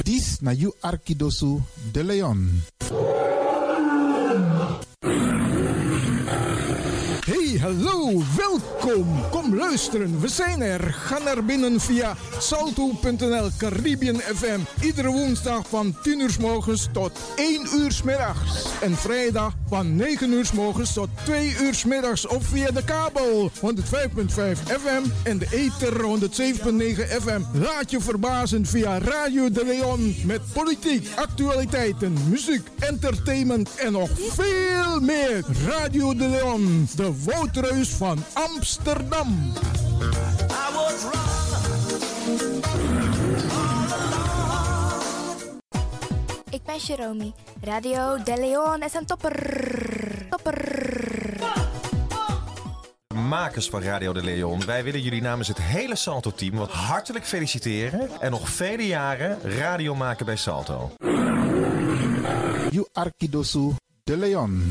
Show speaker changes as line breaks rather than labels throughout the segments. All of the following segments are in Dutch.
Dis na you Arkidosu de Leon.
Hey, hallo, welkom. Kom luisteren, we zijn er. Ga naar binnen via salto.nl Caribbean FM. Iedere woensdag van 10 uur 's morgens tot 1 uur 's middags. En vrijdag van 9 uur 's morgens tot 2 uur 's middags. Of via de kabel 105.5 FM en de ether 107.9 FM. Laat je verbazen via Radio de Leon. Met politiek, actualiteiten, muziek, entertainment en nog veel meer. Radio de Leon, de Woudreus van Amsterdam.
Ik ben Jerome. Radio de Leon is een topper.
Makers van Radio de Leon, wij willen jullie namens het hele Salto-team wat hartelijk feliciteren en nog vele jaren radio maken bij Salto.
You Arkidosu de Leon.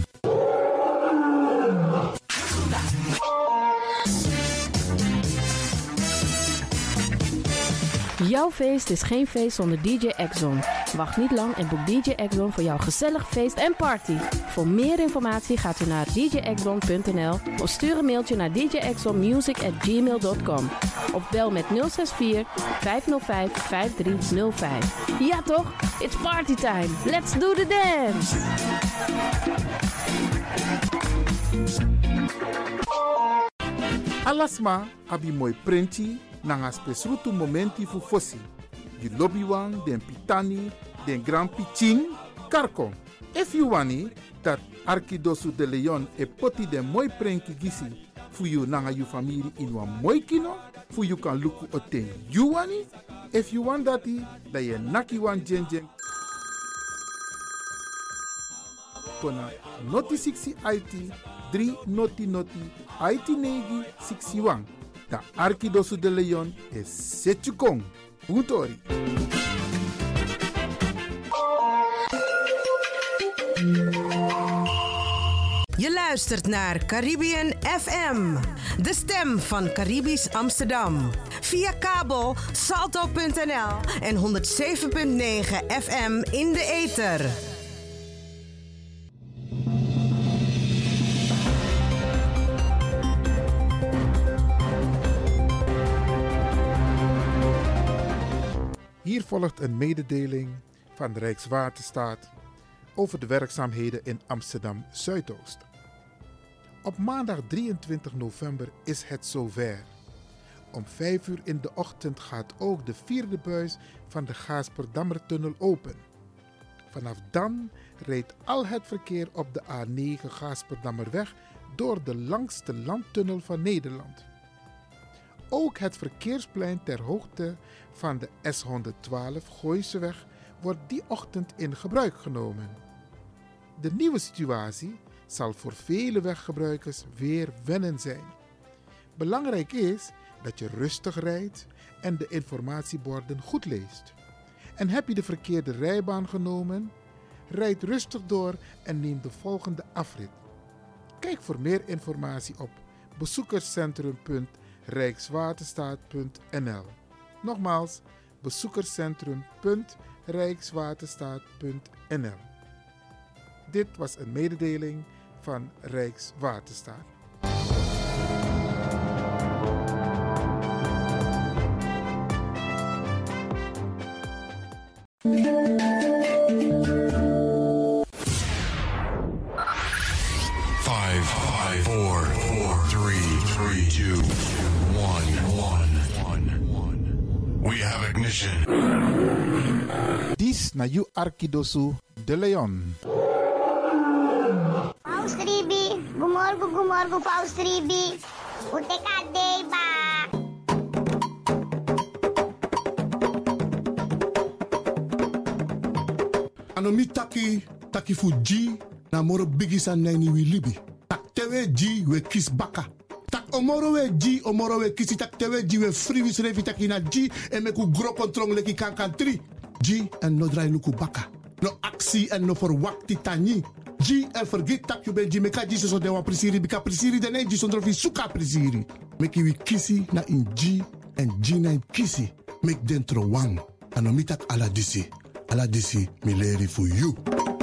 Jouw feest is geen feest zonder DJ Exxon. Wacht niet lang en boek DJ Exxon voor jouw gezellig feest en party. Voor meer informatie gaat u naar djexxon.nl of stuur een mailtje naar djexxonmusic@gmail.com of bel met 064 505 5305. Ja toch? It's party time. Let's do the dance.
Alasma abi moi prenti nanga spesrutu momenti fu fossi. You lobby wan, den pitani, den grand piching, karko. If you wani, dat Arkidosu de Leon e poti den moi prenki gisi fu you nanga you family in wan moi kino, fu you kan luku oten you wani. If you want dati, da ye naki wan jen. Kona noti 60 IT, 3 noti IT negi 61. Da Arkidosu de Leon is Setjukong. Utori.
Je luistert naar Caribbean FM, de stem van Caribisch Amsterdam. Via kabel salto.nl en 107.9 FM in de ether.
Hier volgt een mededeling van de Rijkswaterstaat over de werkzaamheden in Amsterdam Zuidoost. Op maandag 23 november is het zover. Om 5 uur in de ochtend gaat ook de 4e buis van de Gaasperdammertunnel open. Vanaf dan rijdt al het verkeer op de A9 Gaasperdammerweg door de langste landtunnel van Nederland. Ook het verkeersplein ter hoogte van de S112 Gooiseweg wordt die ochtend in gebruik genomen. De nieuwe situatie zal voor vele weggebruikers weer wennen zijn. Belangrijk is dat je rustig rijdt en de informatieborden goed leest. En heb je de verkeerde rijbaan genomen? Rijd rustig door en neem de volgende afrit. Kijk voor meer informatie op bezoekerscentrum.rijkswaterstaat.nl. Nogmaals, bezoekerscentrum.rijkswaterstaat.nl. Dit was een mededeling van Rijkswaterstaat.
Dis na you Arkidosu de Leon.
Paus Ribi, gumorgo Paus Ribi. Uteka deba.
Anomi taki fuji na moro bigisa nani wi libi. Tak tewe ji we kis baka. Tak omoro we kisi tak tewe ji we free wis revi taki na ji e meku gro kontrong leki kankan 3. Ji en no drai luku baka. No aksi en no verwakti tani. Ji en vergeet tak you ben ji meka ji so de wa prisiri bika prisiri de ne ji sondro fi suka prisiri. Meki wi kisi na in ji en ji na in kisi. Mek dentro wang. Anomi tak ala disi. Ala disi mileri for you.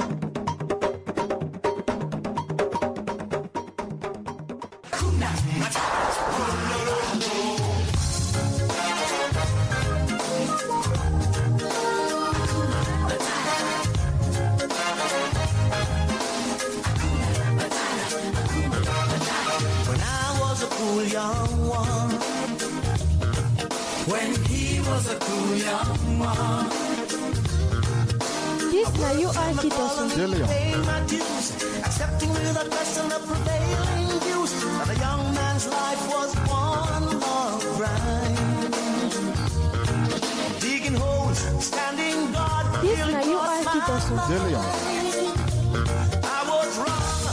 Accepting without question the prevailing views that a young man's life was one long grind. Digging holes, standing guard, feeling God's mind. I was wrong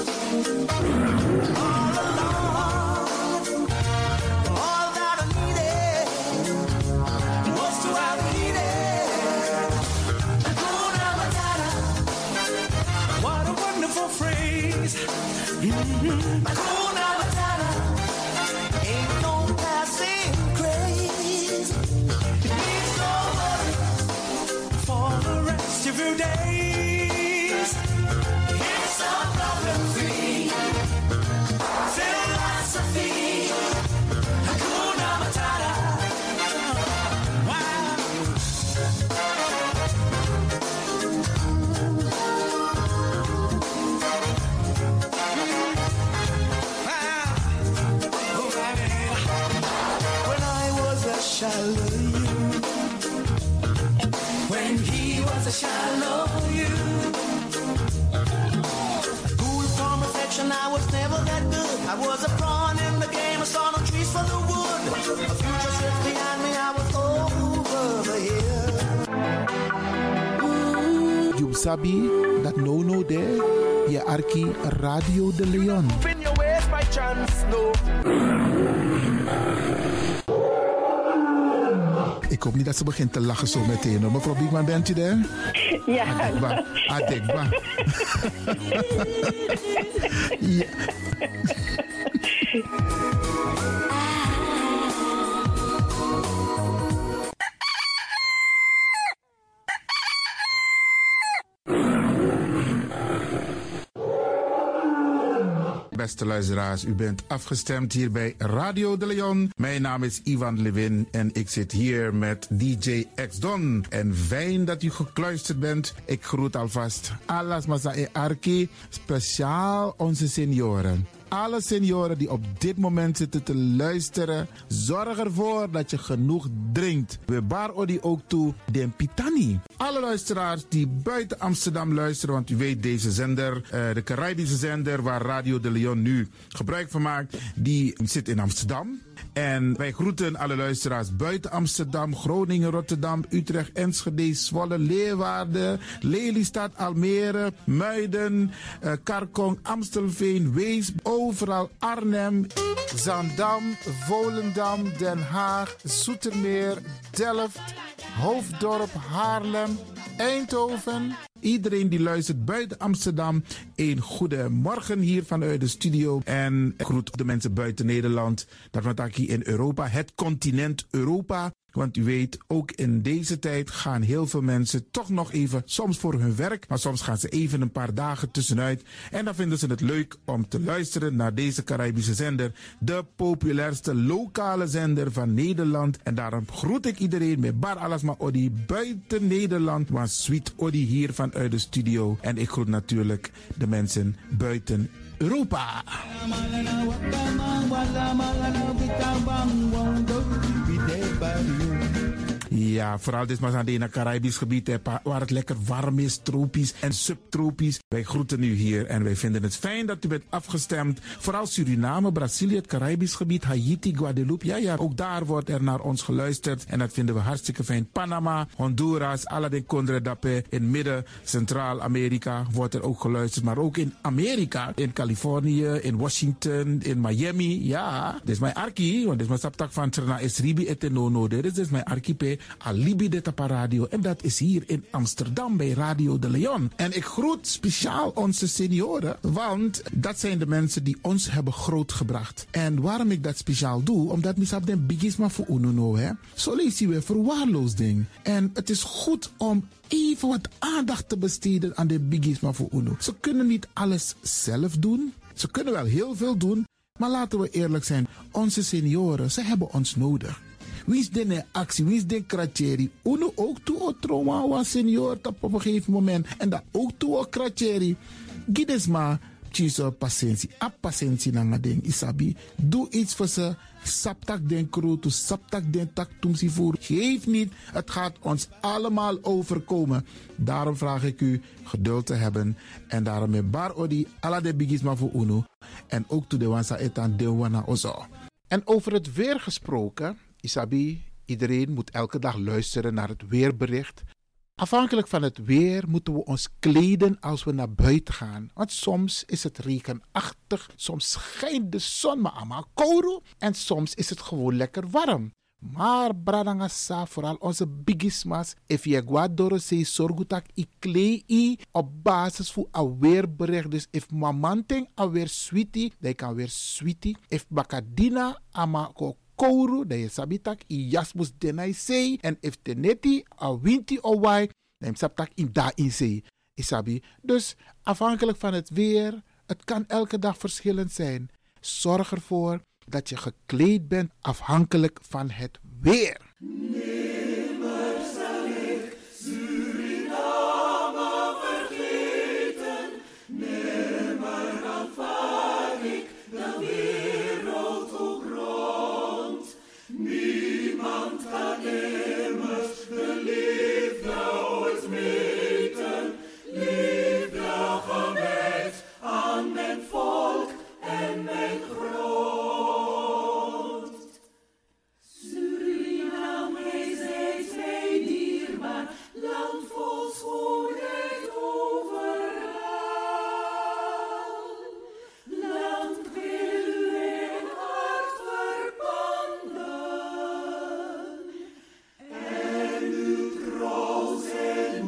all along. All that I needed was to have needed Hakuna Matata. What a wonderful phrase. Hakuna Matata. Ain't no passing craze. It means no worry for the rest of your days. It's a problem-free philosophy. Hakuna Matata. Wow. Shallow you. When he was a shallow you. Cool from affection, I was never that good. I was a pawn in the game, I saw no trees for the wood. A future sits behind me, I was over the hill.
You sabi that no there, je arki Radio de Leon.
Spin your ways by chance, no.
Ik hoop niet dat ze begint te lachen zo meteen. Mevrouw Biekman, bent u daar?
Ja.
Adekba. Ja. Beste luisteraars, u bent afgestemd hier bij Radio de Leon. Mijn naam is Ivan Levin en ik zit hier met DJ X-Don. En fijn dat u gekluisterd bent. Ik groet alvast Alas Masae Arki, speciaal onze senioren. Alle senioren die op dit moment zitten te luisteren, zorg ervoor dat je genoeg drinkt. We bar odi ook toe den pitani. Alle luisteraars die buiten Amsterdam luisteren, want u weet deze zender, de Caribische zender waar Radio de Leon nu gebruik van maakt, die zit in Amsterdam. En wij groeten alle luisteraars buiten Amsterdam, Groningen, Rotterdam, Utrecht, Enschede, Zwolle, Leeuwarden, Lelystad, Almere, Muiden, Karkong, Amstelveen, Wees, overal Arnhem, Zaandam, Volendam, Den Haag, Zoetermeer, Delft, Hoofddorp, Haarlem, Eindhoven. Iedereen die luistert buiten Amsterdam, een goede morgen hier vanuit de studio. En ik groet de mensen buiten Nederland, dat we hier in Europa, het continent Europa. Want u weet, ook in deze tijd gaan heel veel mensen toch nog even, soms voor hun werk, maar soms gaan ze even een paar dagen tussenuit. En dan vinden ze het leuk om te luisteren naar deze Caribische zender, de populairste lokale zender van Nederland. En daarom groet ik iedereen met Bar Alasma Odi buiten Nederland, maar Sweet Odi hier vanuit de studio. En ik groet natuurlijk de mensen buiten Europa. Ja, vooral dit maar aan het Caribisch gebied, waar het lekker warm is, tropisch en subtropisch. Wij groeten u hier en wij vinden het fijn dat u bent afgestemd. Vooral Suriname, Brazilië, het Caribisch gebied, Haiti, Guadeloupe. Ja, ook daar wordt er naar ons geluisterd en dat vinden we hartstikke fijn. Panama, Honduras, Aladdin Condredape, in midden, Centraal-Amerika wordt er ook geluisterd. Maar ook in Amerika, in Californië, in Washington, in Miami. Ja, dit is mijn arki, want dit is mijn saptak van Trana Esribi et Nono. Dit is mijn archipel. Alibi de Tapa Radio. En dat is hier in Amsterdam bij Radio de Leon. En ik groet speciaal onze senioren, want dat zijn de mensen die ons hebben grootgebracht. En waarom ik dat speciaal doe, omdat misap den bigisma voor uno, hè. Zo lezen we verwaarloosding. En het is goed om even wat aandacht te besteden aan de bigisma voor uno. Ze kunnen niet alles zelf doen. Ze kunnen wel heel veel doen. Maar laten we eerlijk zijn, onze senioren, ze hebben ons nodig. Wie is de actie, wie is de kratjeri? Uno ook toe o trauma wa senior op een gegeven moment. En dat ook toe o kratjeri. Gides maar, tjiso patiëntie. A patiëntie na nga ding, isabi. Doe iets voor ze. Saptak den kroto, saptak den tak tumsi voer. Geef niet, het gaat ons allemaal overkomen. Daarom vraag ik u geduld te hebben. En daarom met bar odi, ala de bigisma voor uno. En ook toe de wansa etan de wana ozo.
En over het weer gesproken, Isabi, iedereen moet elke dag luisteren naar het weerbericht. Afhankelijk van het weer moeten we ons kleden als we naar buiten gaan. Want soms is het regenachtig, soms schijnt de zon maar allemaal kouro en soms is het gewoon lekker warm. Maar bradangasa, vooral onze bigismas, if je guadoro se sorgutak i klei op basis van een weerbericht. Dus if mamanting alweer sweetie, dan kan weer sweetie. If bakadina ama kouru, dan je sabitak i jasmus denai sei. En if teneti a winti o wai, dan je sabitak in da in sei. Isabi. Dus afhankelijk van het weer, het kan elke dag verschillend zijn. Zorg ervoor dat je gekleed bent afhankelijk van het weer.
Nimmer zal ik Suriname vergeten. Nimmer aanvaard ik de wereld ook rond. Niemand kan immers de liefde ooit meten. Liefde gewijd aan mijn volk en mijn grond. Suriname, gij zijt mij dierbaar, land vol schoonheid overal. Land wil u in hart verpanden en uw trouw zijn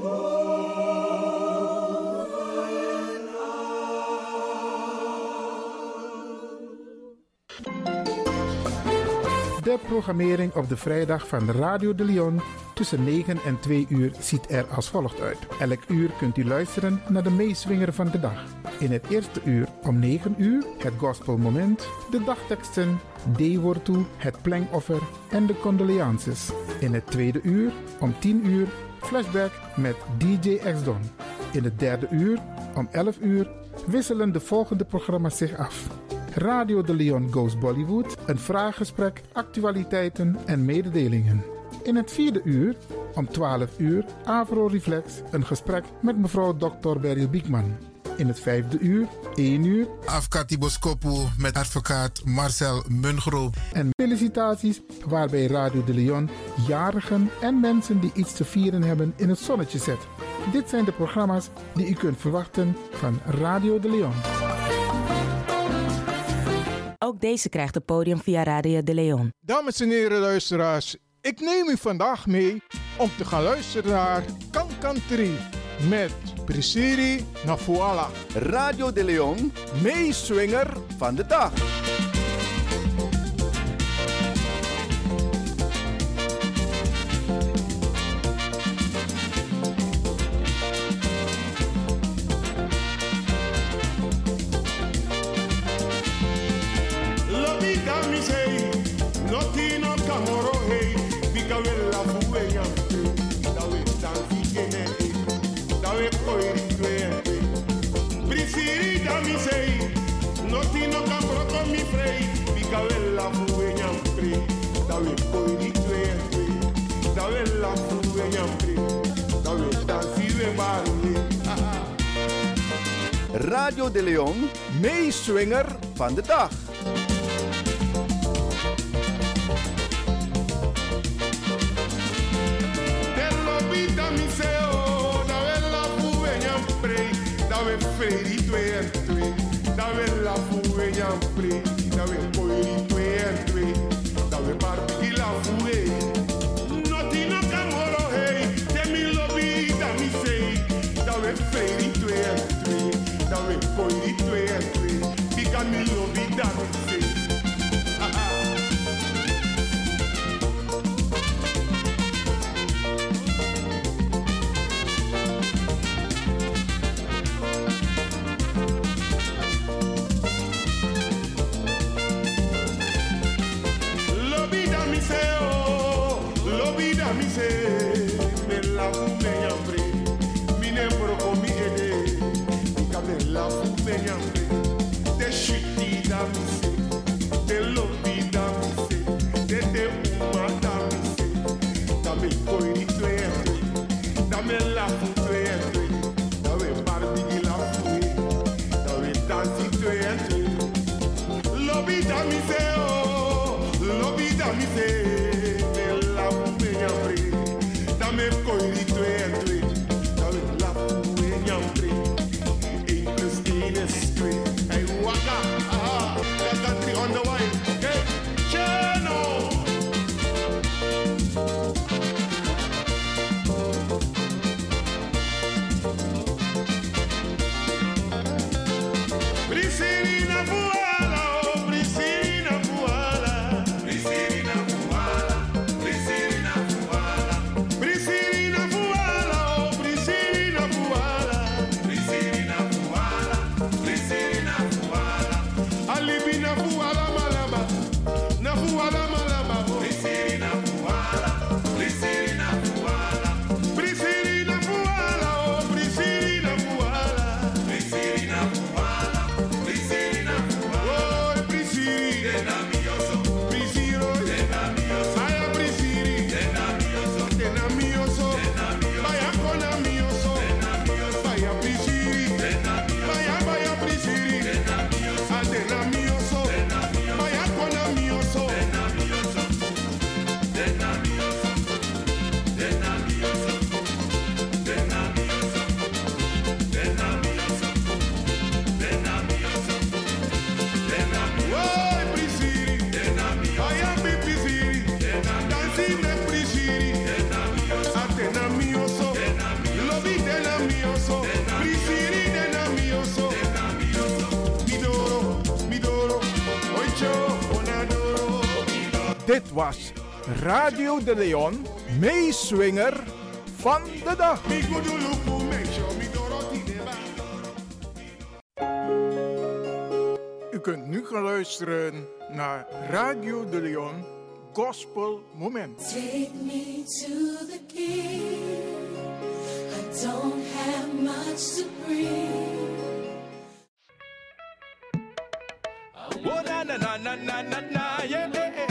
De programmering op de vrijdag van Radio de Leon tussen 9 en 2 uur ziet er als volgt uit. Elk uur kunt u luisteren naar de meeswinger van de dag. In het eerste uur om 9 uur het gospelmoment, de dagteksten, D-woord toe, het plengoffer en de condolences. In het tweede uur om 10 uur flashback met DJ X-Don. In het derde uur om 11 uur wisselen de volgende programma's zich af. Radio de Leon Goes Bollywood, een vraaggesprek, actualiteiten en mededelingen. In het vierde uur, om 12 uur, Avro Reflex, een gesprek met mevrouw Dr. Beryl Biekman. In het vijfde uur, 1 uur,
Afkati Boskopu met advocaat Marcel Mungro.
En felicitaties waarbij Radio de Leon jarigen en mensen die iets te vieren hebben in het zonnetje zet. Dit zijn de programma's die u kunt verwachten van Radio de Leon.
Ook deze krijgt het podium via Radio de Leon.
Dames en heren luisteraars, ik neem u vandaag mee om te gaan luisteren naar Kankantri met Prisciri Nafuala.
Radio de Leon,
meeswinger
van de dag. Radio de Leon,
meeswinger
van de dag.
Notino camo
Dit was Radio de Leon, meeswinger van de dag. U kunt nu gaan luisteren naar Radio de Leon Gospel Moment.
Take me to the King. I don't have much to bring.
Oh na na na na na na na yeah.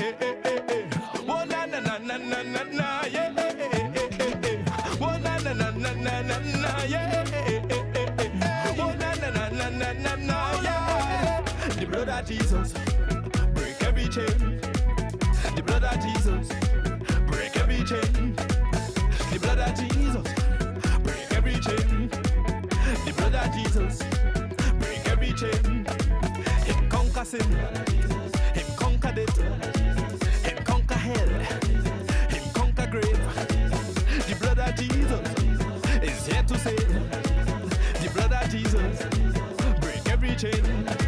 Oh na na na na na na na yeah. Oh na na na na na na na yeah. Oh na na na na na na na yeah. The blood of Jesus break every chain. The blood of Jesus break every chain. The blood of Jesus break every chain. The blood of Jesus break every chain. Him conquer sin, him conquer death, him conquer hell, him conquer grave. The blood of Jesus is here to save. The blood of Jesus break every chain.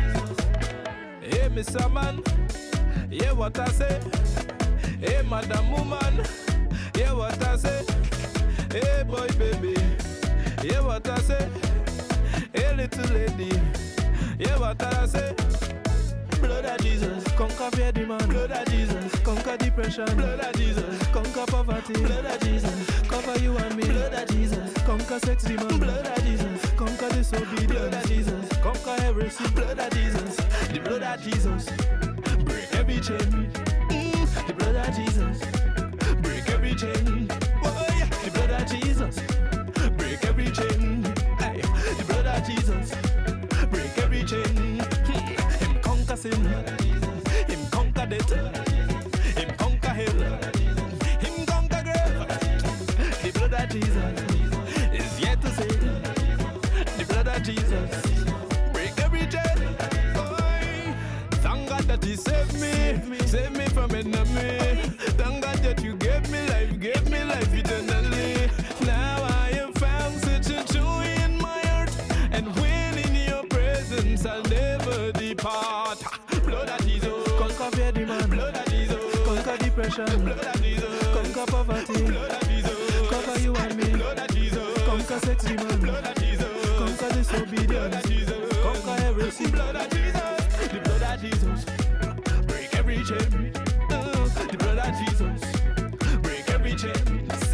Hey, Mr. Man, hear what I say. Hey, Madam Woman, hear what I say. Hey, boy, baby, hear what I say. Hey, little lady, hear what I say. Blood of Jesus, conquer fear demand. Blood of Jesus, conquer depression. Blood of Jesus, conquer poverty. Blood of Jesus, cover you and me. Blood of Jesus, conquer sex demand. Blood of Jesus, conquer disobedience. Blood of Jesus, conquer heresy. Blood of Jesus, the blood of Jesus, break every chain. The blood of Jesus, break every chain. Oh yeah, the blood of Jesus, break every chain. Hey, the blood of Jesus, break every chain. Him conquer sin, him conquer death, him conquer hell, him conquer grave. The blood of Jesus is yet to save. The blood of Jesus break every chain. Thank God that He saved me from enemy. Thank God that You gave me life eternally. Now I am found such a joy in my heart, and when in Your presence I'll never depart. Blood of Jesus, conquer fear demand. Blood of Jesus, conquer depression. Blood of Jesus, conquer poverty. Blood of Jesus, cover you and me. Blood of Jesus, conquer sex demand. Blood of Jesus, conquer disobedience. Blood of Jesus, conquer heresy. Blood of Jesus, the blood of Jesus, break every chain. The blood of Jesus, break every chain.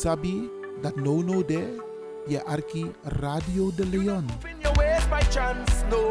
sabi dat no de je arki Radio de Leon.
In your ways by chance, no.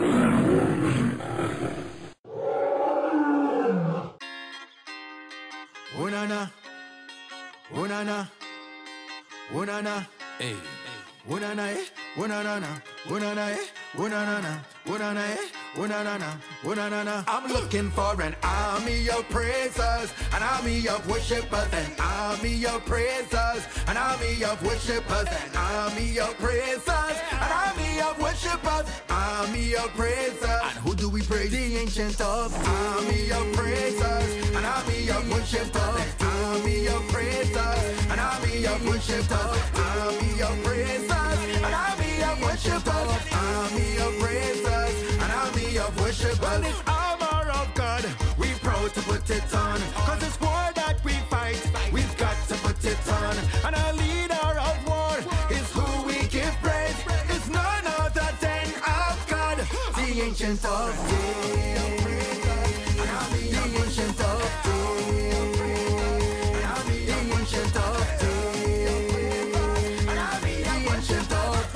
Unana, unana, unana, hey. Unana, eh, unana, unana, eh, unana, unana, eh, unana, unana. I'm looking for an army of praisers, an army of worshipers, an army of praisers, an army of worshipers, an army of praisers, an army of worshipers, army of praisers. And who do we praise? The ancient of army of praisers, an army of worshipers, an army of praisers, an army of worshipers, army of praisers, an army of worshipers, army of praisers, an army of worshipers. Well, this armor of God, we proud to put it on, cause it's war that we fight, we've got to put it on. And our leader of war is who we give praise, it's none other than our God, the ancient of days, the ancient of days, the ancient of days, the ancient of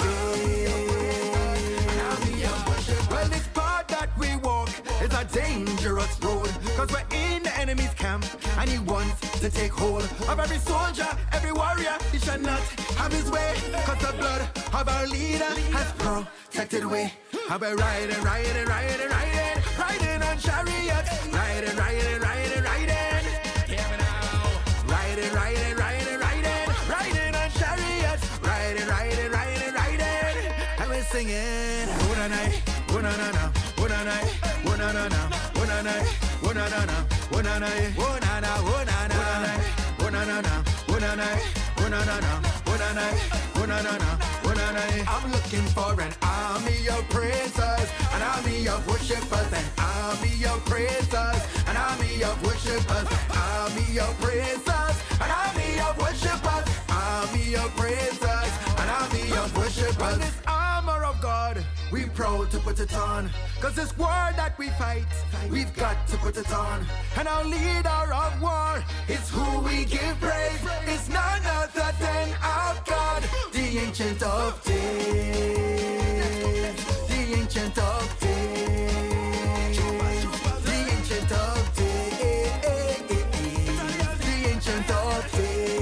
days. Well, this path that we walk is a dangerous road, cause we're in the enemy's camp and he wants to take hold of every soldier, every warrior. He shall not have his way, cause the blood of our leader has protected way. I've been riding, riding, riding, riding, riding on chariots, riding, riding, riding, riding. Hear me now. Riding, riding, riding, riding, riding on chariots, riding, riding, riding, riding. And we're singing, una-na, una-na-na, una-na, una-na-na, una-na, una-na-na, una-na, una-na, una-na, una-na-na, una-na, una-na-na, una-na, una-na-na, una-na. I'm looking for an army of praisers, an army of worshipers, an army of praisers, an army of worshipers, an army of praisers, an army of worshipers, army of praisers, an army of worshipers. This armor of God, we proud to put it on, cause this war that we fight, we've got to put it on. And our leader of war is who we give praise, it's none other than our God, the ancient of days, the ancient of days, the ancient of days, the ancient of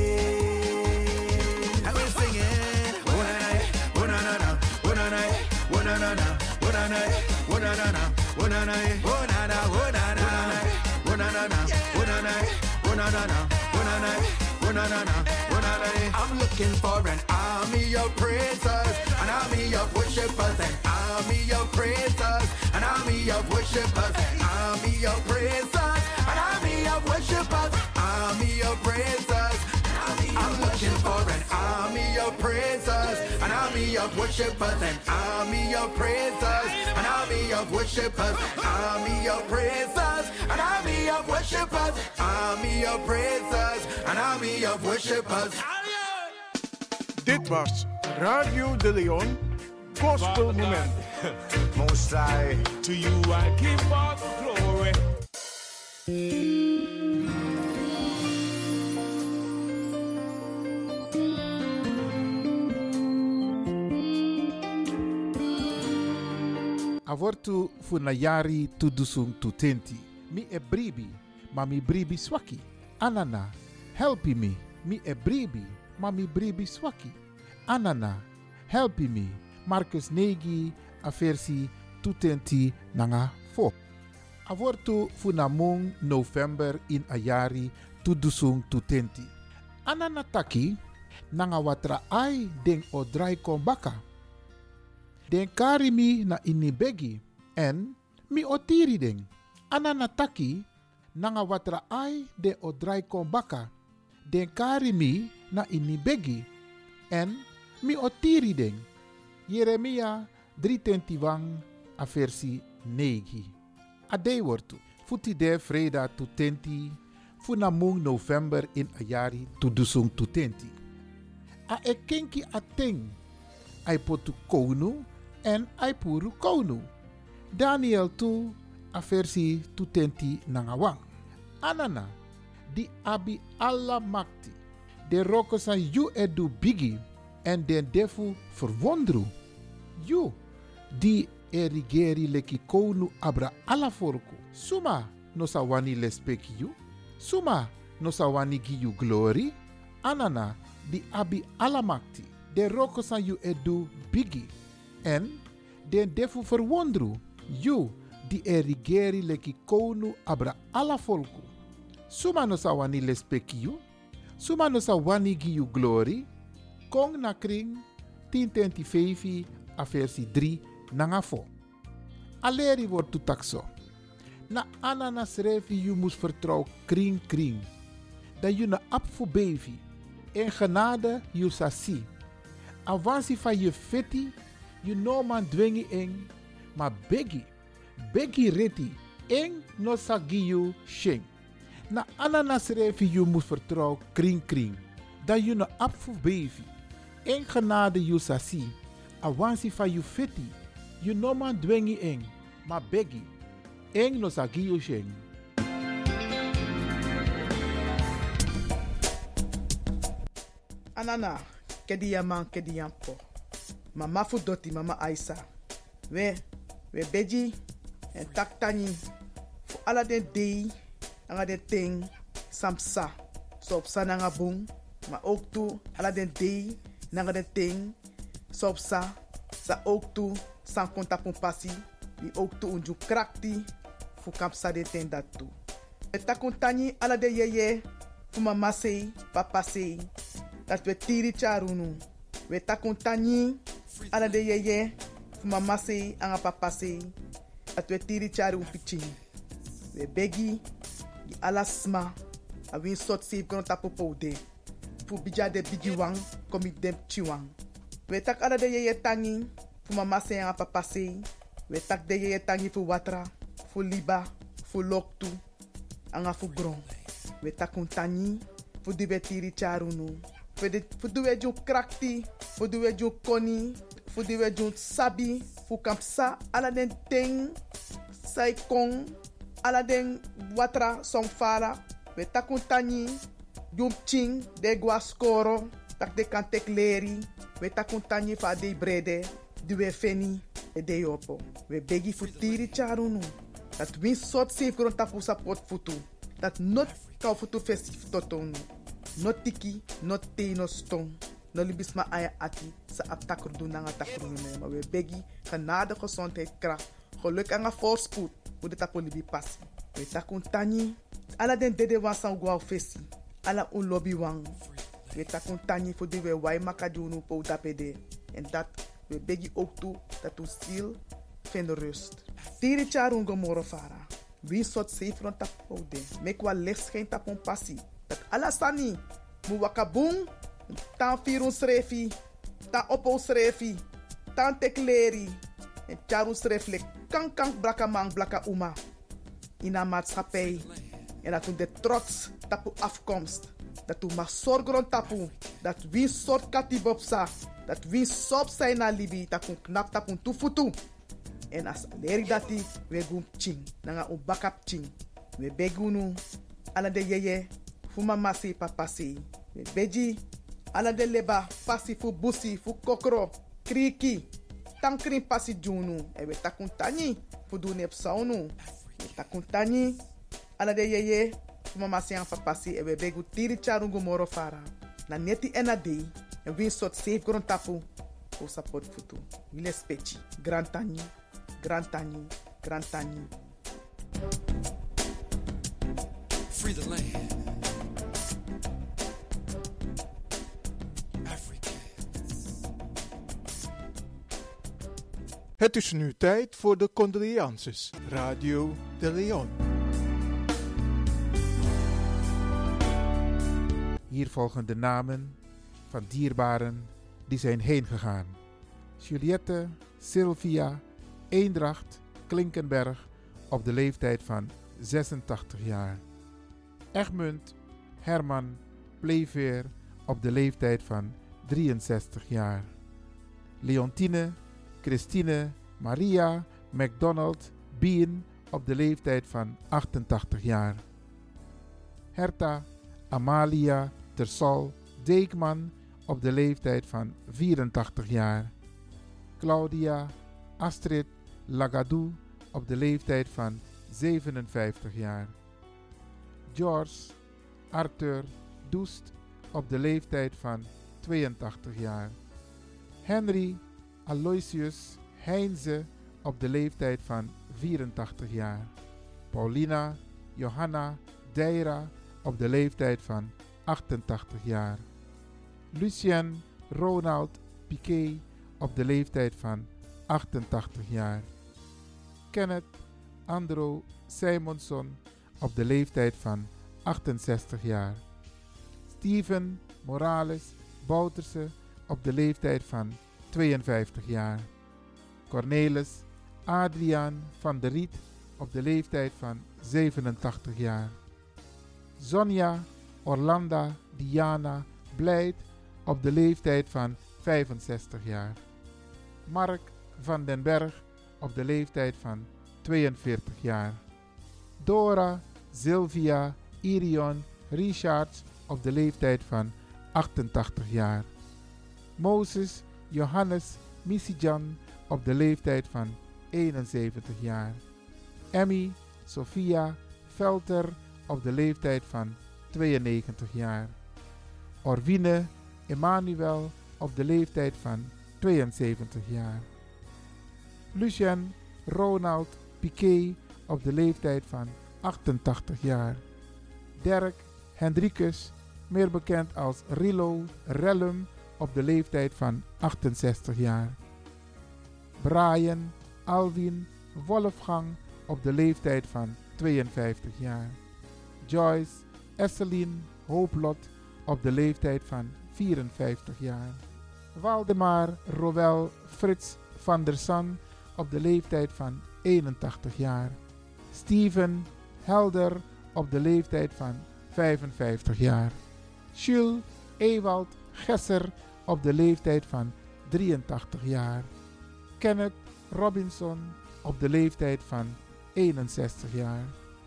days. And we're singing, una-na, una-na-na, una-na, una-na-na, una-na, una-na-na, una-na, una-na, una-na, una-na, una-na, una-na. I'm looking for an army of praisers, an army of worshipers, an army of praisers, an army of worshipers, an army of praisers, an army of worshipers, army of praisers. I'm looking for an army of praisers, an army of worshipers, an army of praisers, an army of worshipers, army of praisers, an army of worshipers, army of praisers, an army of worshipers.
Dit was Radio de Leon Gospel Moment.
Most High, to you I give all the glory.
Avortu funayari tudusung tutenti. Mi e bribi, ma mi bribi swaki. Anana, helpi me. Mi e bribi, ma mi bribi swaki. Anana, helpi me. Marcus Negi, aversi tutenti nanga fo. Avortu funamung November in ayari tudusung tutenti. Anana taki, nanga watra ai den odrai kombaka. Den kari mi na inibegi en mi otiri den. Anana taki nanga watra ai de odrai kombaka. Den kari mi na inibegi en mi otiri den. Jeremia 3:21 a versi 9. Ade wortu. Futi de freda tutenti. Funamung November in ayari tudusung tutenti. A ekenki ateng. Ai potu konu en ai puru konu. Daniel 2 a versi tutenti nangawang. Anana di abi alla makti. De roko san you edu bigi en den defu verwondru. You di erigeri leki konu abra ala forku. Suma no sa wani lespeki you. Suma no sa wani gi you glory. Anana di abi alamakti. De roko san you edu bigi en den defu verwondru. You di erigeri leki konu abra ala folku. Suma no sa wani lespeki you. Suma no sa wani gi you glory. Kong na kring 1025 a versie 3 nangafo. Aleri wordt toetakso. Na ananas revi you mus vertrouw kring kring. Dat you na ap voor baby. En genade you sasi. Avansi van je feti. You no man dwengi eng. Maar begi. Begi reti. Eng no sagi you sheng. Na ananas revi you mus vertrouw kring kring. Dat you na ap voor baby. En genade you sasi. Awansi van you feti. You no man dwengi eng. Maar begi. Eng no sagi you sheng.
Anana, kedi yaman kedi yampo. Mama fu doti mama Aisa. We beji en taktani. Fu ala den dei, anga den ting, samsa. So op sa nanga bung, maar ook toe ala den dei, nanga den ting, so op sa ook toe, san konta pon pasi, die ook toe unju krakti, fu kapsa de ten dat toe. We takontani ala de yeye, fu mama sei, papa sei. Dat we tiri charunu. We takuntani ala de yeye. Fu mama sei, anga papa sei. Dat we tiri charu pichin. We begi. Di ala sma. A win sot save kono tapo poude. Fu bija de bigi wang. Komi dem chiwang. We tak ala de yeye tangi. Fu mama sei, anga papa sei. We tak de yeye tangi fu watra. Fu liba. Fu loktu. Anga fu gron. We takuntani. Fu di we tiri charunu. Fu duwe jun krakti, fu duwe jun koni, fu duwe jun sabi, fu kampsa ala den ting, sai kong, ala den watra song fara, we takuntani, jun ching, de guascoro, tak de kantek leri, we takuntani fa de brede, duwe feni, e de yopo. We begi fu tiri charunu, dat win sot safe gron tapu sapot futu, dat not kau futu festif totonu. No tiki, no te, no stong. No libisma aya ati. Sa aptakru doen na takru me. Maar we begi genade, gezondheid, kracht. Geluk en voorspoed. Hoe de tapo libi passi. We takun tani. Ala den dede wan san guau fesi. Ala un lobby wang. We takun tani voor die we wai makadunu po tapede. En dat we begi ook toe. Dat u ziel vindt rust. Tiri charun gomoro fara. Wie soort zeefron tapo de. Mek wa licht geen tapon passi. Dat alasani, mu wakabung, tan firun srefi, tan opo srefi, tan tekleri, en charu sreflek, kank blaka mang blaka uma. In een maatschappij, en dat de trots tapu afkomst, dat u mag zorgen tapu, dat wie soort katibopsa, dat wie sop zijn na libi, dat u knap tapu tufutu. En as leri dati, we gum ching, nanga u bakap ching, we begunu, ala de yeye, fu mama si papa si. We beji. Ala de leba. Pasi fu busi. Fu kokro. Kriki. Tankrin pasi junu. E we takuntani. Fu du nep saunu. We takuntani. Ala de yeye. Fu mama si an papa si. E we begu tiri charungu moro fara. Na neti ena dei. En win sot safe gron tapu. Fu support futu. Wile spechi. Grantani. Grantani. Grantani.
Free the land.
Het is nu tijd voor de condolences. Radio de Leon.
Hier volgen de namen van dierbaren die zijn heen gegaan. Juliette Sylvia Eendracht Klinkenberg op de leeftijd van 86 jaar. Egmund Herman Pleveer op de leeftijd van 63 jaar. Leontine Christine Maria McDonald Bien op de leeftijd van 88 jaar. Herta Amalia Tersal Deekman op de leeftijd van 84 jaar. Claudia Astrid Lagadou op de leeftijd van 57 jaar. George Arthur Doest op de leeftijd van 82 jaar. Henry Aloysius Heinze op de leeftijd van 84 jaar. Paulina Johanna Deira op de leeftijd van 88 jaar. Lucien Ronald Piquet op de leeftijd van 88 jaar. Kenneth Andro Simonson op de leeftijd van 68 jaar. Steven Morales Bouterse op de leeftijd van 52 jaar. Cornelis Adriaan van der Riet op de leeftijd van 87 jaar. Sonja Orlanda Diana Blijt op de leeftijd van 65 jaar. Mark van den Berg op de leeftijd van 42 jaar. Dora Sylvia Irion Richards op de leeftijd van 88 jaar. Moses Johannes Misijan op de leeftijd van 71 jaar. Emmy Sophia Velter op de leeftijd van 92 jaar. Orwine Emmanuel op de leeftijd van 72 jaar. Lucien Ronald Piquet op de leeftijd van 88 jaar. Dirk Hendrikus, meer bekend als Rilo Rellum, op de leeftijd van 68 jaar. Brian Alwin Wolfgang op de leeftijd van 52 jaar. Joyce Esselien Hooplot op de leeftijd van 54 jaar. Waldemar Roel Frits van der San op de leeftijd van 81 jaar. Steven Helder op de leeftijd van 55 jaar. Jules Ewald Gesser op de leeftijd van 83 jaar. Kenneth Robinson op de leeftijd van 61 jaar.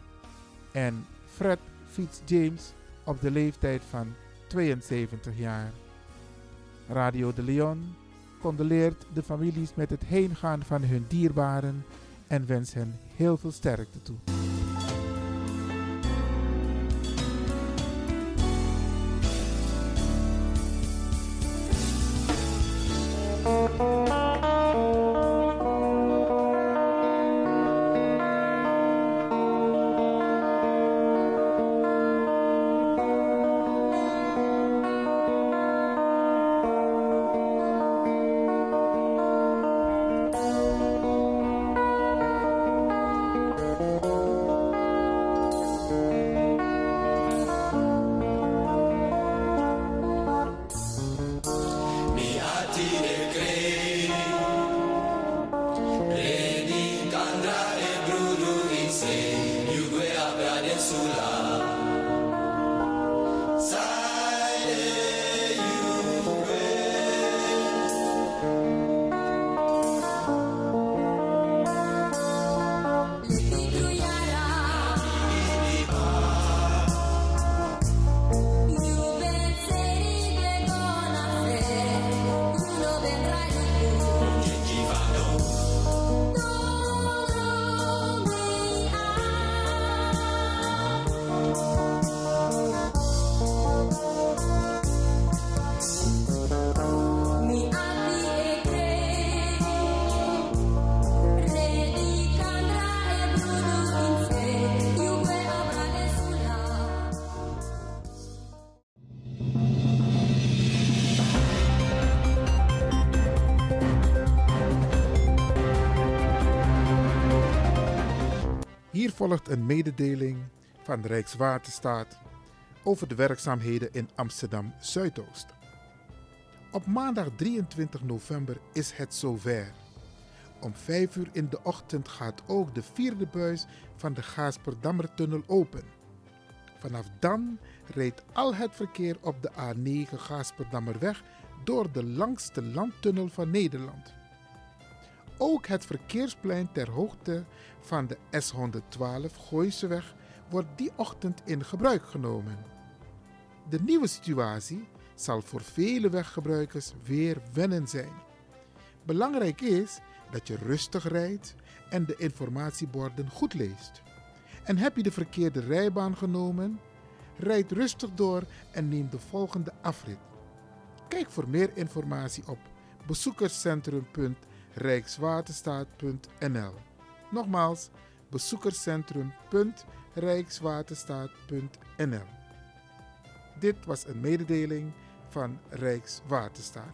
En Fred Fitzjames op de leeftijd van 72 jaar. Radio de Leon condoleert de families met het heengaan van hun dierbaren en wens hen heel veel sterkte toe. Hier volgt een mededeling van Rijkswaterstaat over de werkzaamheden in Amsterdam Zuidoost. Op maandag 23 november is het zover. Om 5 uur in de ochtend gaat ook de 4e buis van de Gaasperdammertunnel open. Vanaf dan rijdt al het verkeer op de A9 Gaasperdammerweg door de langste landtunnel van Nederland. Ook het verkeersplein ter hoogte van de S112 Gooiseweg wordt die ochtend in gebruik genomen. De nieuwe situatie zal voor vele weggebruikers weer wennen zijn. Belangrijk is dat je rustig rijdt en de informatieborden goed leest. En heb je de verkeerde rijbaan genomen? Rijd rustig door en neem de volgende afrit. Kijk voor meer informatie op bezoekerscentrum.rijkswaterstaat.nl. Nogmaals, bezoekerscentrum.rijkswaterstaat.nl. Dit was een mededeling van Rijkswaterstaat.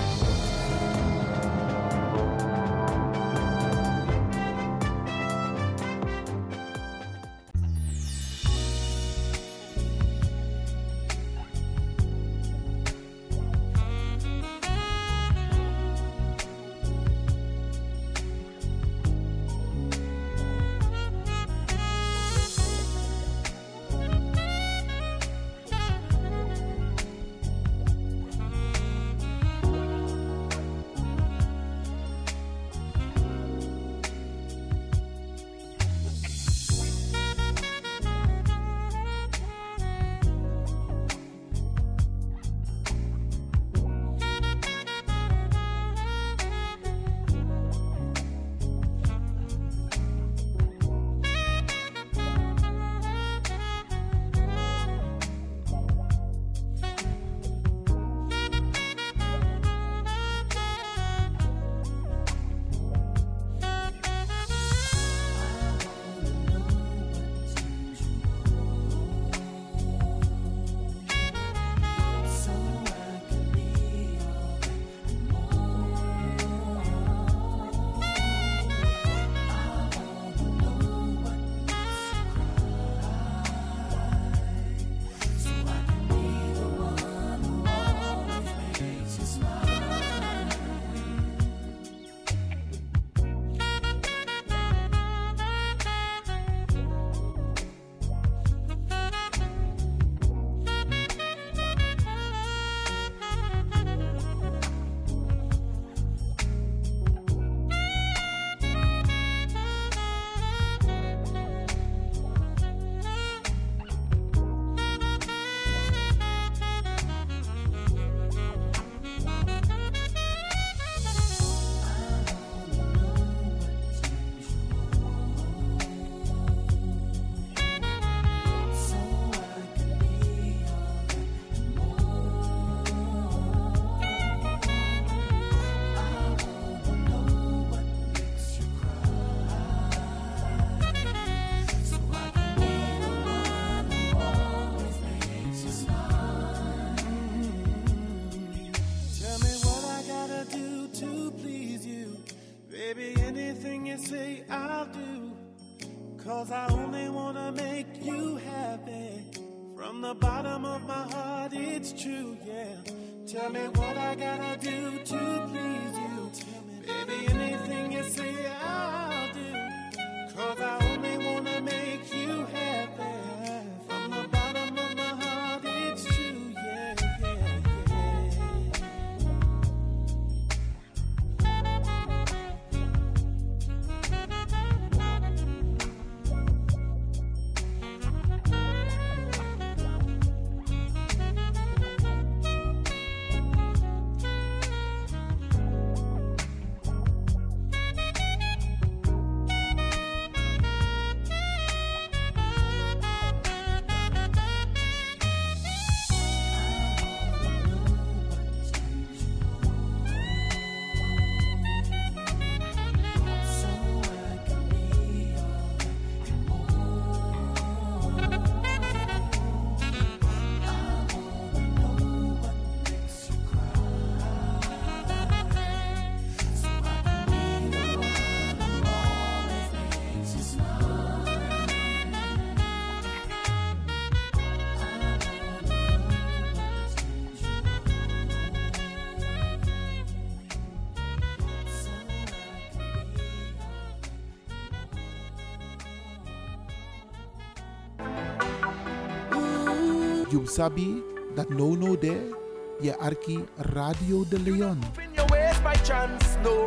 say I'll do, 'cause I only wanna make you happy. From the bottom of my heart it's true, yeah. Tell me what I gotta do to please you. Baby, anything you say I'll do, 'cause I only wanna make you happy. From the bottom of my heart it's true, yeah, yeah,
You sabi that no there, je arki Radio de Leon.
in your ways by chance, no.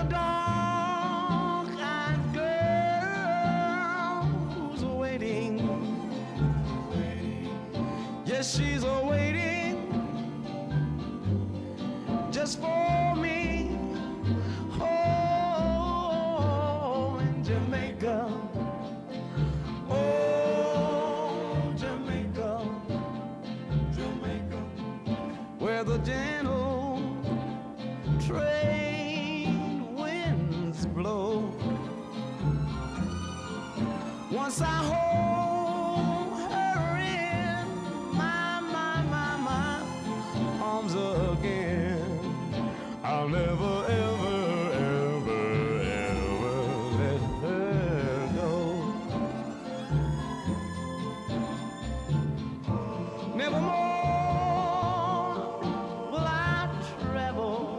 a dark-eyed girl who's waiting. Yes, she's waiting just for me. Oh, in Jamaica. Oh, Jamaica. Jamaica. Where the gentle trade winds blow. Once I hold her in my arms again, I'll never, ever, ever, ever let her go. Nevermore will I travel,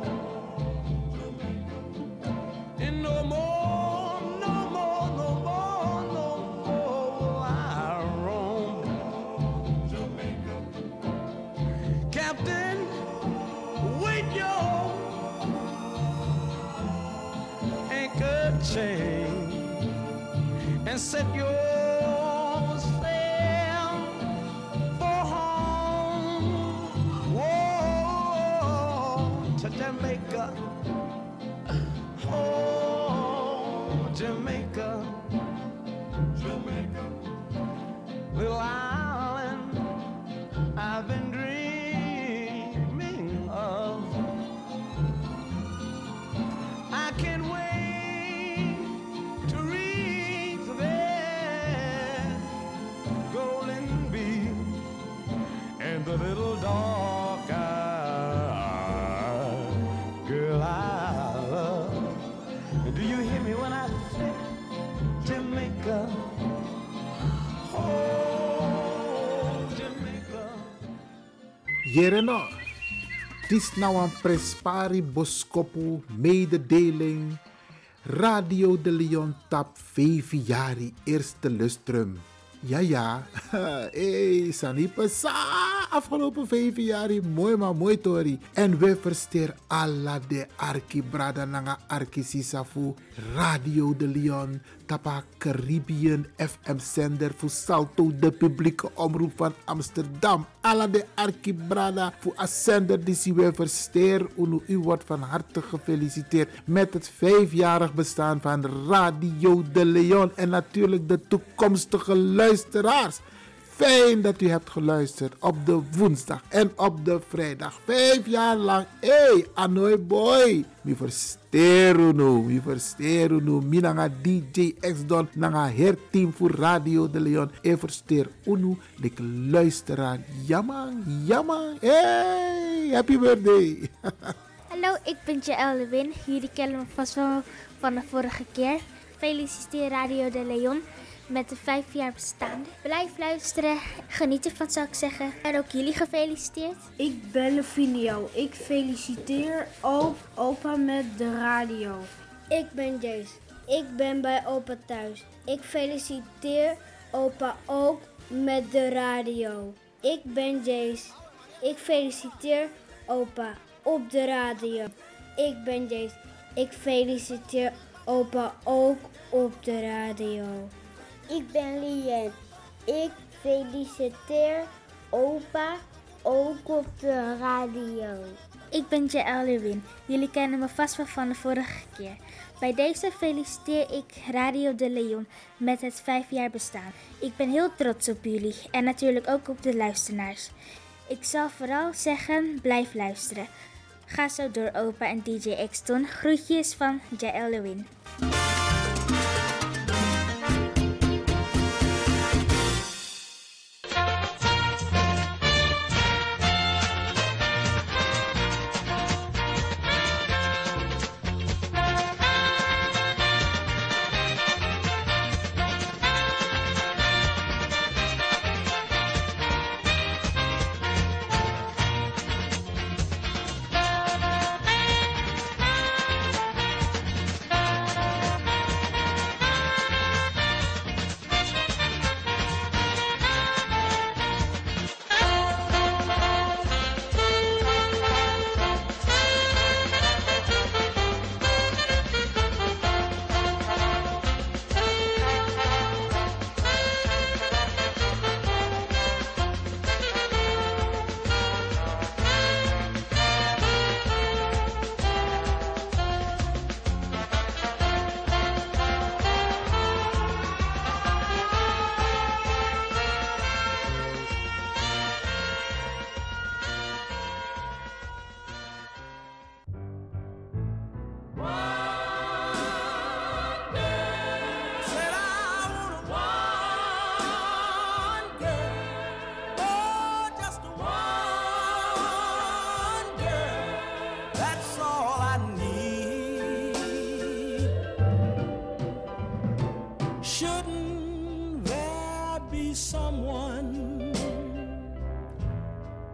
and no more, no more, no more, no more will I roam. Jamaica. Captain, wait your anchor chain and set your sail for home. Whoa, to Jamaica. Oh, Jamaica. Jamaica. Little island I've been dreaming of. I can't wait to reach there, golden beach and the little dark-eyed girl I love. Do you hear me when I say Jamaica? Oh, Jamaica.
Jereno, het is nou een Prespari Boskopu mededeling. Radio de Leon tap 5 jaar eerste lustrum. Ja. Hey, Sanipa sa. Afgelopen 5 jaar mooi maar mooi tori. En we versteer alla de arki brada nanga arki sisafu. Radio de Leon tapa Caribbean FM zender voor Salto de publieke omroep van Amsterdam. Alla de arki brada voor a zender die we versteer. U wordt van harte gefeliciteerd met het 5-jarig bestaan van Radio de Leon. En natuurlijk de toekomstige luisteraars. Fijn dat u hebt geluisterd op de woensdag en op de vrijdag. 5 jaar lang. Hey, Anoy boy. Mi versteer nu. Mi nanga DJ X-Don. Nanga herteam voor Radio de Leon. E versteer unu. De luisteraar. Jammer. Hey, happy birthday.
Hallo, ik ben Jaël Lewin. Jullie kennen me vast wel van de vorige keer. Feliciteer Radio de Leon met de 5 jaar bestaan. Blijf luisteren, geniet ervan zou ik zeggen. En ook jullie gefeliciteerd.
Ik ben Levinio. Ik feliciteer ook opa met de radio.
Ik ben Jace. Ik ben bij opa thuis. Ik feliciteer opa ook met de radio. Ik ben Jace. Ik feliciteer opa op de radio. Ik ben Jace. Ik feliciteer opa ook op de radio.
Ik ben Lien. Ik feliciteer opa ook op de radio.
Ik ben Jaël Lewin. Jullie kennen me vast wel van de vorige keer. Bij deze feliciteer ik Radio de Leon met het 5 jaar bestaan. Ik ben heel trots op jullie en natuurlijk ook op de luisteraars. Ik zal vooral zeggen, blijf luisteren. Ga zo door opa en DJ X-Don. Groetjes van Jaël Lewin.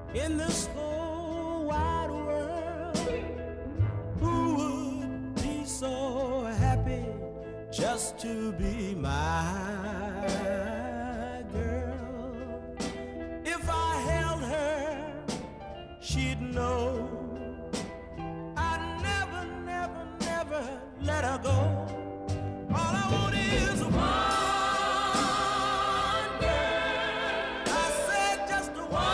in this whole wide world, who would be so happy just to be my girl? If I held her, she'd know I'd never, never, never let her go. All I want is one girl. I said just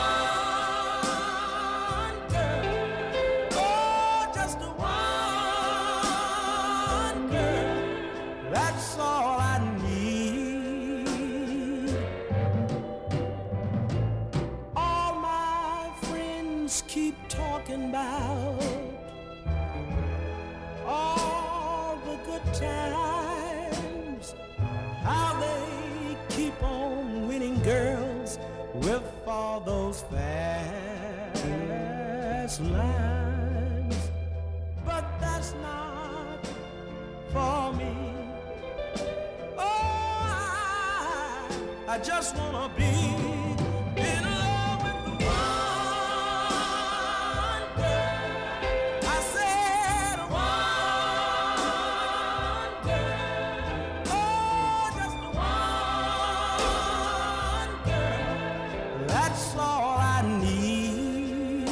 one girl. Oh, just one girl. That's all I need. All my friends keep talking about all the good times, how they keep on winning girls with all those fast lines. But that's not for me. Oh, I just wanna be in love with the one girl. I said one girl. Oh, just one girl. That's all I need.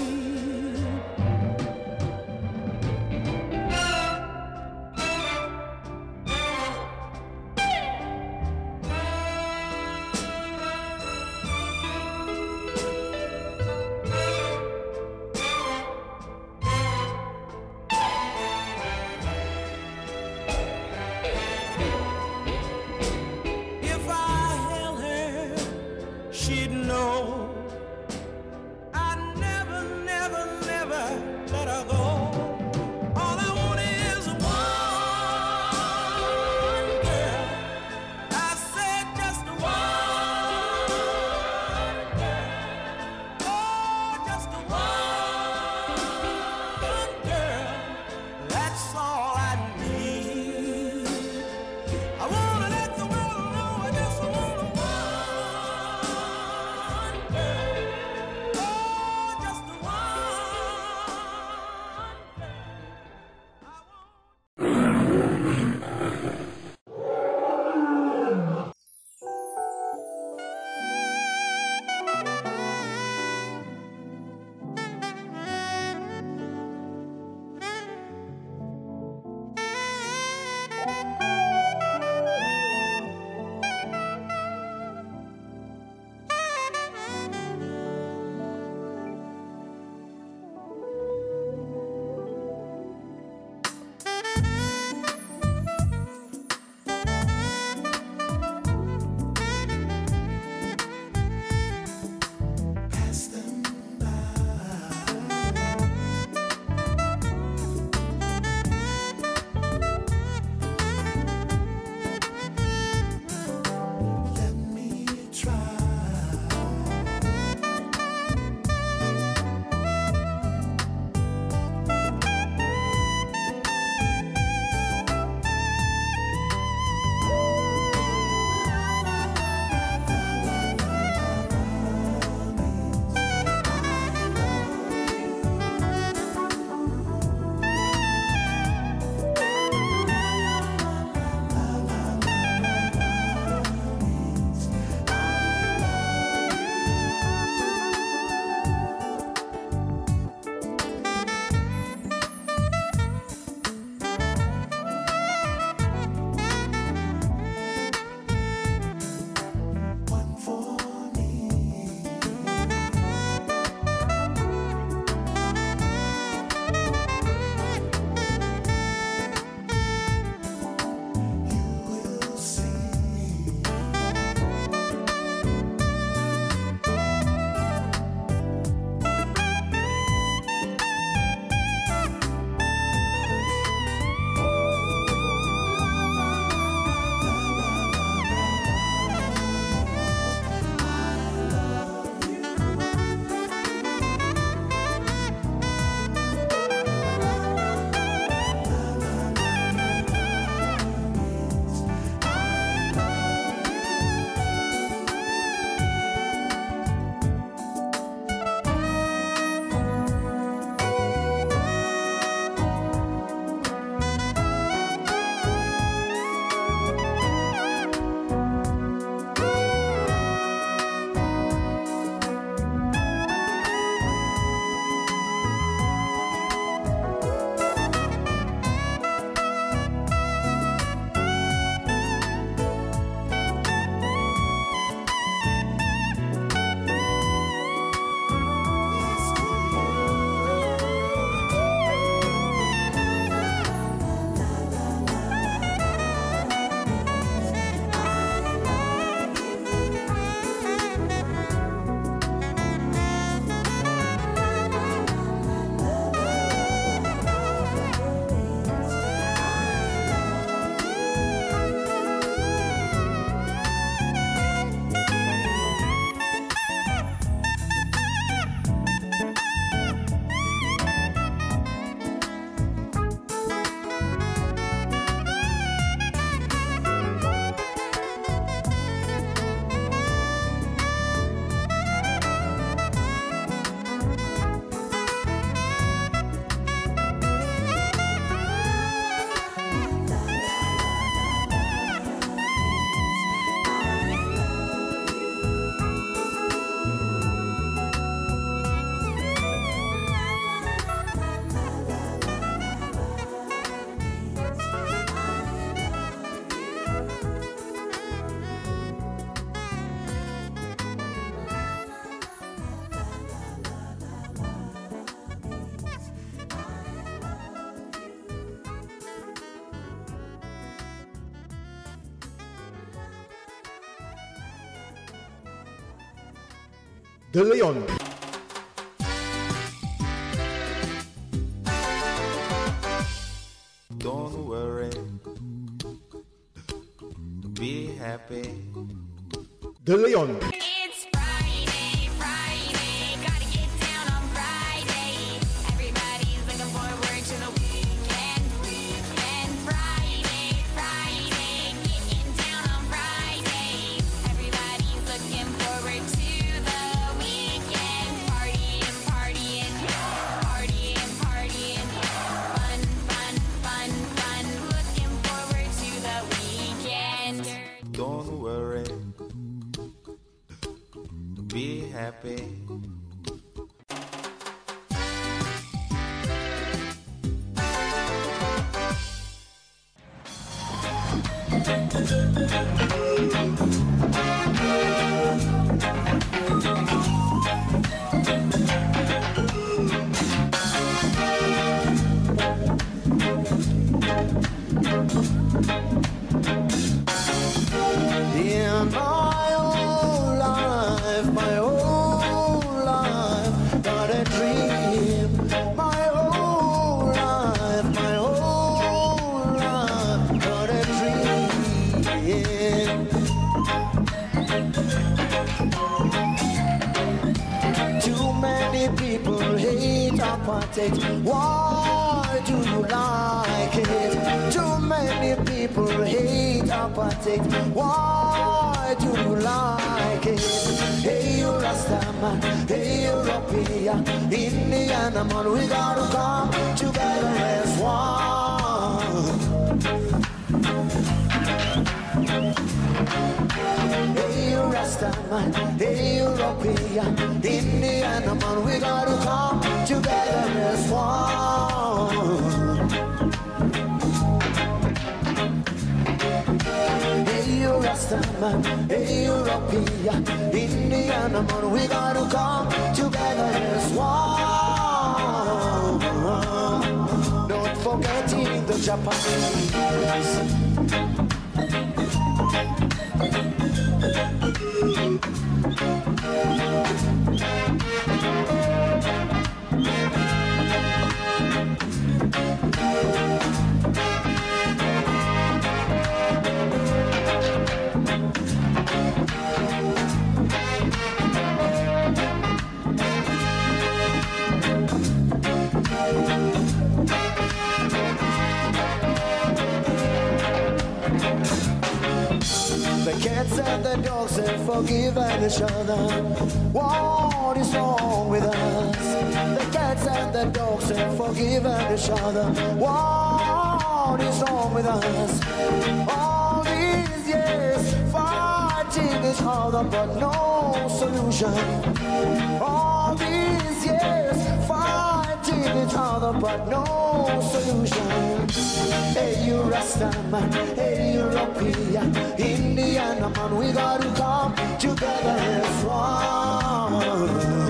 De Leon.
Don't worry, be happy.
De Leon.
It's Friday, Friday, gotta get down on Friday. Everybody's looking forward to the weekend, weekend. Friday, Friday, getting down on Friday. Everybody's looking forward to the weekend. Partying, partying, partying, partying. Fun, fun, fun, fun. Looking forward to the weekend.
Don't worry, be happy.
In my whole life, got a dream. My whole life, got a dream. Too many people hate apartheid. Why do you like it? Too many people hate apartheid. Why do you like it? Hey, you Rastaman, hey, European, Indian man, we gotta come together as one. Hey, you Rastaman, hey, European, Indian man, we gotta come together as one. Hey, you Rastaman, hey, European, Indian man, we gotta come together as one. Don't forgetting the Japanese. The cats and the dogs have forgiven each other. What is wrong with us? The cats and the dogs have forgiven each other. What is wrong with us? All these years fighting each other, but no solution. All these years fighting each other, but no solution. Hey, you Rastaman, hey, European, Indian man, we gotta come together as one.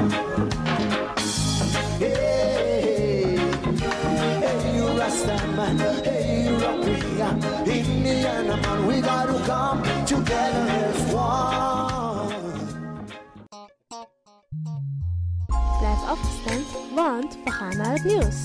Hey, hey, you Rastaman, hey, European, Indian man, we gotta come together as one.
Blijf afgestemd, want we gaan naar het nieuws.